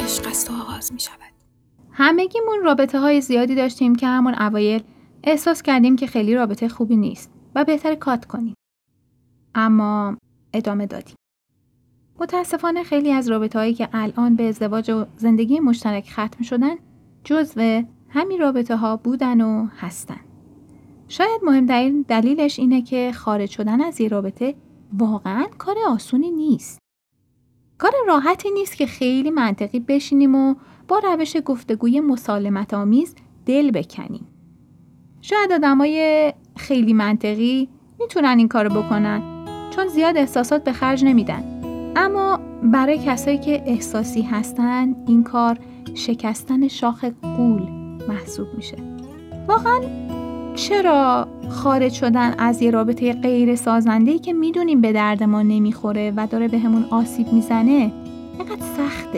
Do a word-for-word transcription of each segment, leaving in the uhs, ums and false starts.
عشق است و آغاز می شود. همگیمون رابطه های زیادی داشتیم که همون اوایل احساس کردیم که خیلی رابطه خوبی نیست و بهتر کات کنیم. اما ادامه دادیم. متاسفانه خیلی از رابطه هایی که الان به ازدواج و زندگی مشترک ختم شدن جزو همین رابطه ها بودن و هستن. شاید مهمترین دلیلش اینه که خارج شدن از یه رابطه واقعاً کار آسونی نیست. کار راحتی نیست که خیلی منطقی بشینیم و با روش گفتگوی مسالمت آمیز دل بکنیم. شاید آدمای خیلی منطقی میتونن این کارو بکنن چون زیاد احساسات به خرج نمیدن. اما برای کسایی که احساسی هستن این کار شکستن شاخ غول محسوب میشه. واقعاً چرا خارج شدن از یه رابطه غیر سازنده‌ای که میدونیم به درد ما نمیخوره و داره به همون آسیب میزنه اینقدر سخته؟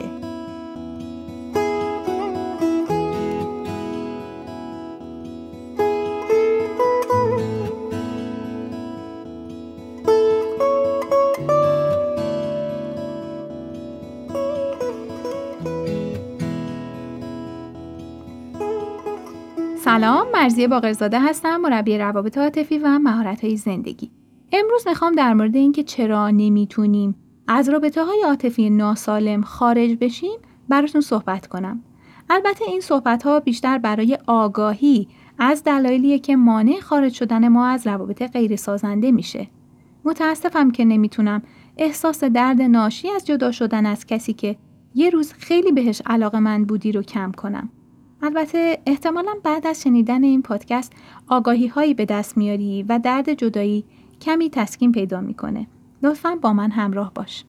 سلام، مرضیه باقرزاده هستم، مربی روابط عاطفی و مهارت‌های زندگی. امروز میخوام در مورد اینکه چرا نمیتونیم از رابطه‌های عاطفی ناسالم خارج بشیم براتون صحبت کنم. البته این صحبت‌ها بیشتر برای آگاهی از دلایلیه که مانع خارج شدن ما از روابط غیر سازنده میشه. متاسفم که نمیتونم احساس درد ناشی از جدا شدن از کسی که یه روز خیلی بهش علاقه‌مند بودی رو کم کنم. البته احتمالاً بعد از شنیدن این پادکست آگاهی هایی به دست میاری و درد جدایی کمی تسکین پیدا میکنه. لطفاً با من همراه باش.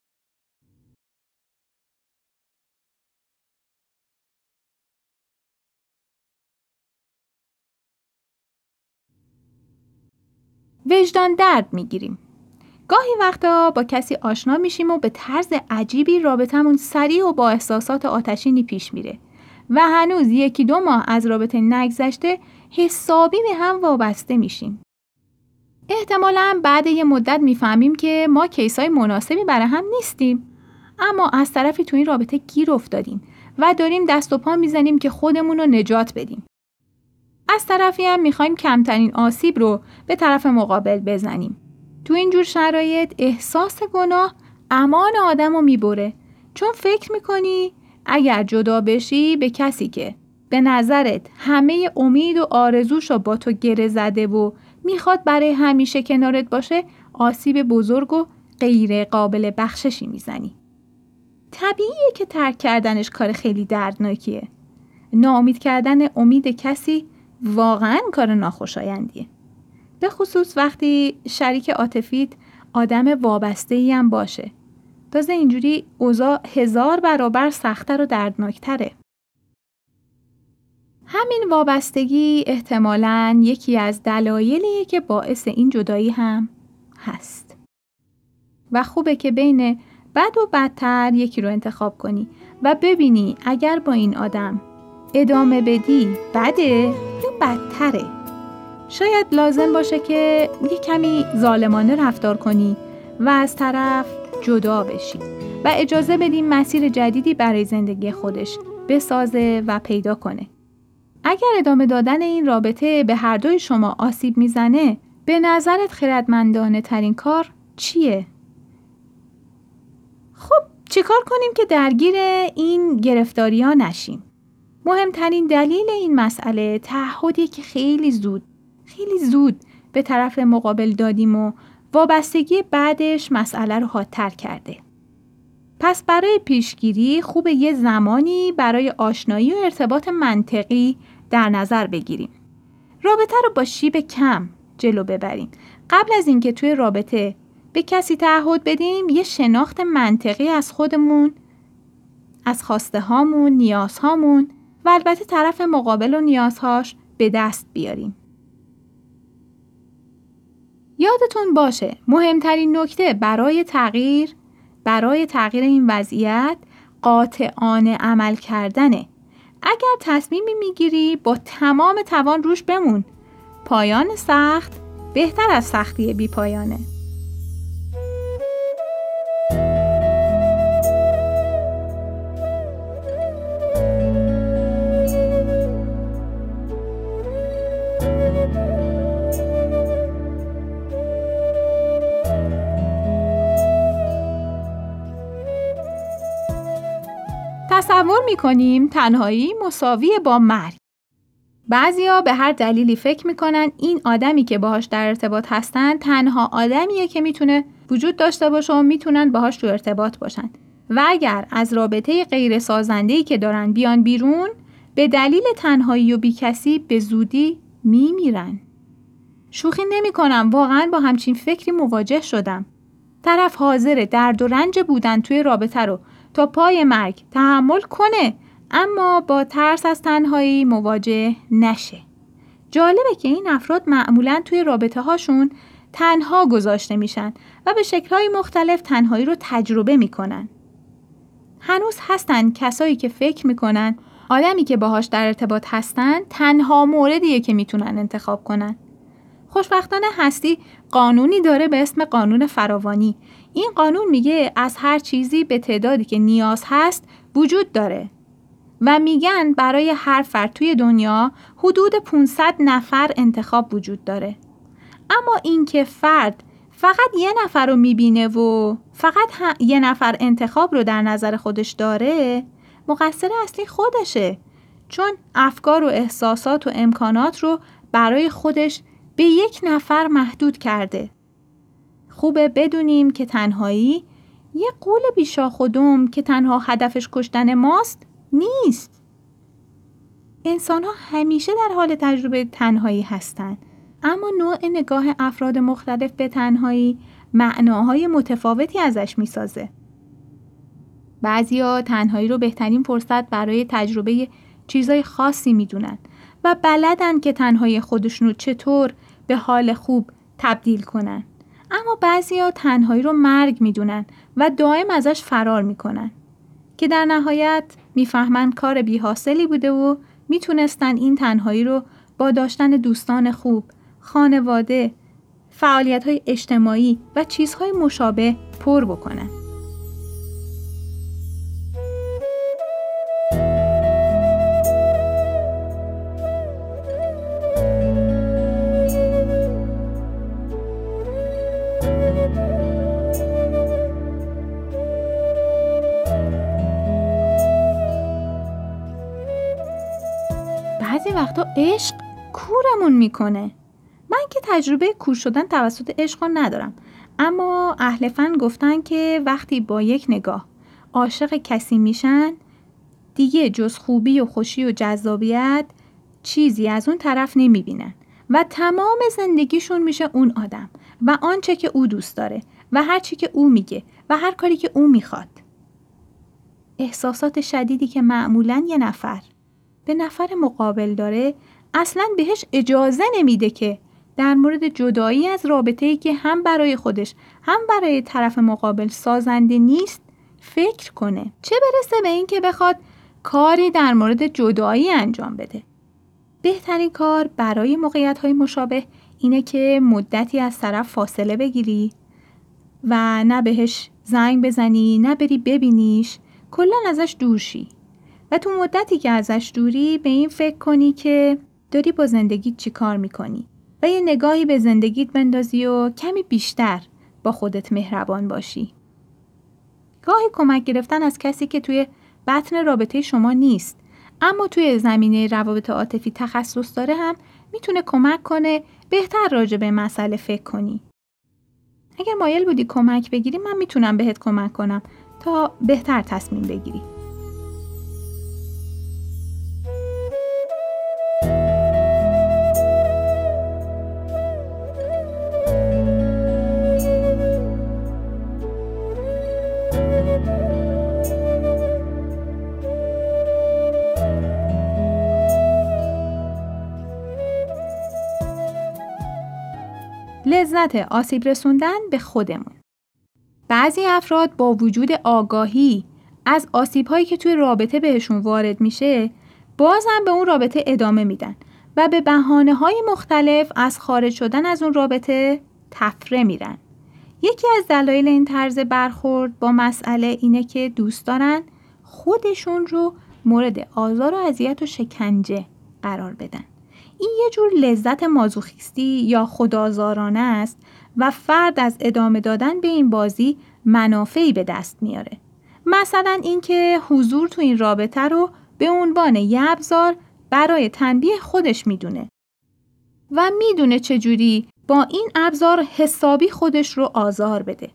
وجدان درد میگیریم. گاهی وقتا با کسی آشنا میشیم و به طرز عجیبی رابطمون سریع و با احساسات آتشینی پیش میره. و هنوز یکی دو ماه از رابطه نگذشته حسابی به هم وابسته میشیم. احتمالاً بعد یه مدت میفهمیم که ما کیسای مناسبی برای هم نیستیم، اما از طرفی تو این رابطه گیر افتادیم و داریم دست و پا میزنیم که خودمون رو نجات بدیم. از طرفی هم میخوایم کمترین آسیب رو به طرف مقابل بزنیم. تو اینجور شرایط احساس گناه امان آدم رو میبره، چون فکر میکنی اگر جدا بشی به کسی که به نظرت همه امید و آرزوشو با تو گره زده و میخواد برای همیشه کنارت باشه آسیب بزرگ و غیر قابل بخششی میزنی. طبیعیه که ترک کردنش کار خیلی دردناکیه. ناامید کردن امید کسی واقعاً کار ناخوشایندیه. به خصوص وقتی شریک عاطفیت آدم وابسته‌ای هم باشه. تازه اینجوری اوضاع هزار برابر سخت‌تر و دردناکتره. همین وابستگی احتمالاً یکی از دلایلیه که باعث این جدایی هم هست. و خوبه که بین بد و بدتر یکی رو انتخاب کنی و ببینی اگر با این آدم ادامه بدی بده یا بدتره. شاید لازم باشه که یه کمی ظالمانه رفتار کنی و از طرف جدا بشی و اجازه بدیم مسیر جدیدی برای زندگی خودش بسازه و پیدا کنه. اگر ادامه دادن این رابطه به هر دوی شما آسیب میزنه، به نظرت خردمندانه ترین کار چیه؟ خب چیکار کنیم که درگیر این گرفتاری ها نشیم؟ مهمترین دلیل این مسئله تعهدیه که خیلی زود خیلی زود به طرف مقابل دادیم و وابستگی بعدش مسئله رو حادتر کرده. پس برای پیشگیری خوبه یه زمانی برای آشنایی و ارتباط منطقی در نظر بگیریم. رابطه رو با شیب کم جلو ببریم. قبل از اینکه توی رابطه به کسی تعهد بدیم یه شناخت منطقی از خودمون، از خواسته هامون، نیازهامون و البته طرف مقابل و نیازهاش به دست بیاریم. یادتون باشه مهمترین نکته برای تغییر برای تغییر این وضعیت قاطعانه عمل کردنه. اگر تصمیمی میگیری با تمام توان روش بمون. پایان سخت بهتر از سختی بی پایانه. تصور میکنیم تنهایی مساوی با مرگ. بعضیا به هر دلیلی فکر میکنن این آدمی که باهاش در ارتباط هستن تنها آدمیه که میتونه وجود داشته باشه و میتونن باهاش تو ارتباط باشن و اگر از رابطه غیر سازنده‌ای که دارن بیان بیرون به دلیل تنهایی و بیکسی به زودی میمیرن. شوخی نمی کنم، واقعا با همچین فکری مواجه شدم. طرف حاضر درد و رنج بودن توی رابطه رو تا پای مرگ تحمل کنه اما با ترس از تنهایی مواجه نشه. جالبه که این افراد معمولاً توی رابطه هاشون تنها گذاشته میشن و به شکل‌های مختلف تنهایی رو تجربه میکنن. هنوز هستن کسایی که فکر میکنن آدمی که باهاش در ارتباط هستن تنها موردیه که میتونن انتخاب کنن. خوشبختانه هستی قانونی داره به اسم قانون فراوانی. این قانون میگه از هر چیزی به تعدادی که نیاز هست وجود داره و میگن برای هر فرد توی دنیا حدود پانصد نفر انتخاب وجود داره. اما این که فرد فقط یه نفر رو میبینه و فقط یه نفر انتخاب رو در نظر خودش داره، مقصر اصلی خودشه، چون افکار و احساسات و امکانات رو برای خودش به یک نفر محدود کرده. خوبه بدونیم که تنهایی یه غول بیشاخ و دم که تنها هدفش کشتن ماست نیست. انسان ها همیشه در حال تجربه تنهایی هستن، اما نوع نگاه افراد مختلف به تنهایی معناهای متفاوتی ازش میسازه. بعضیا تنهایی رو بهترین فرصت برای تجربه چیزای خاصی میدونن و بلدن که تنهایی خودشون رو چطور به حال خوب تبدیل کنن. اما بعضیا تنهایی رو مرگ میدونن و دائم ازش فرار میکنن که در نهایت میفهمن کار بی‌حاصلی بوده و میتونستن این تنهایی رو با داشتن دوستان خوب، خانواده، فعالیت‌های اجتماعی و چیزهای مشابه پر بکنن. بعضی وقتا عشق کورمون میکنه. من که تجربه کور شدن توسط عشق رو ندارم، اما اهل فن گفتن که وقتی با یک نگاه عاشق کسی میشن دیگه جز خوبی و خوشی و جذابیت چیزی از اون طرف نمیبینن و تمام زندگیشون میشه اون آدم و آنچه که او دوست داره و هر چی که او میگه و هر کاری که او میخواد. احساسات شدیدی که معمولاً یه نفر به نفر مقابل داره اصلاً بهش اجازه نمیده که در مورد جدایی از رابطه‌ای که هم برای خودش هم برای طرف مقابل سازنده نیست فکر کنه، چه برسه به این که بخواد کاری در مورد جدایی انجام بده. بهترین کار برای موقعیت‌های مشابه اینه که مدتی از طرف فاصله بگیری و نه بهش زنگ بزنی نه بری ببینیش، کلاً ازش دور شی و تو مدتی که ازش دوری به این فکر کنی که داری با زندگیت چی کار میکنی و یه نگاهی به زندگیت بندازی و کمی بیشتر با خودت مهربان باشی. گاهی کمک گرفتن از کسی که توی بطن رابطه شما نیست اما توی زمینه روابط عاطفی تخصص داره هم میتونه کمک کنه بهتر راجع به مسئله فکر کنی. اگر مایل بودی کمک بگیری من میتونم بهت کمک کنم تا بهتر تصمیم بگیری. لذت آسیب رسوندن به خودمون. بعضی افراد با وجود آگاهی از آسیب‌هایی که توی رابطه بهشون وارد میشه بازم به اون رابطه ادامه میدن و به بهانه‌های مختلف از خارج شدن از اون رابطه تفره میرن. یکی از دلایل این طرز برخورد با مسئله اینه که دوست دارن خودشون رو مورد آزار و اذیت و شکنجه قرار بدن. این یه جور لذت مازوخیستی یا خودآزارانه است و فرد از ادامه دادن به این بازی منافعی به دست میاره. مثلا اینکه حضور تو این رابطه رو به عنوان یه ابزار برای تنبیه خودش میدونه و میدونه چجوری با این ابزار حسابی خودش رو آزار بده.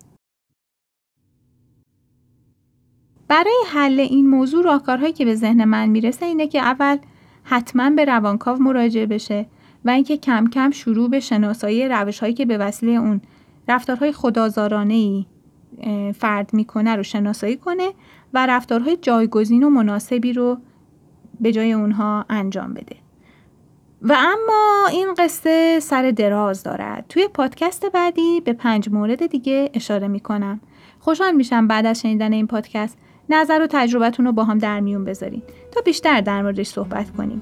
برای حل این موضوع راهکارهایی که به ذهن من میرسه اینه که اول حتما به روانکاو مراجعه بشه و اینکه کم کم شروع به شناسایی روش‌هایی که به وسیله اون رفتارهای خودآزارانه‌ای فرد میکنه رو شناسایی کنه و رفتارهای جایگزین و مناسبی رو به جای اونها انجام بده. و اما این قصه سر دراز دارد. توی پادکست بعدی به پنج مورد دیگه اشاره میکنم. خوشحال میشم بعد از شنیدن این پادکست نظر و تجربتون رو با هم در میون بذارین تا بیشتر در موردش صحبت کنیم.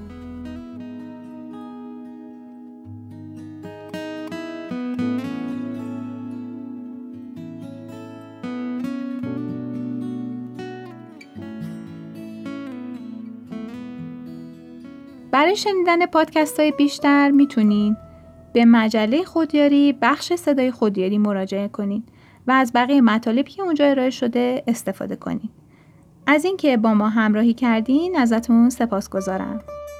برای شنیدن پادکست های بیشتر میتونین به مجله خودیاری بخش صدای خودیاری مراجعه کنین و از بقیه مطالبی که اونجا ارائه شده استفاده کنین. از اینکه با ما همراهی کردین ازتون سپاسگزارم.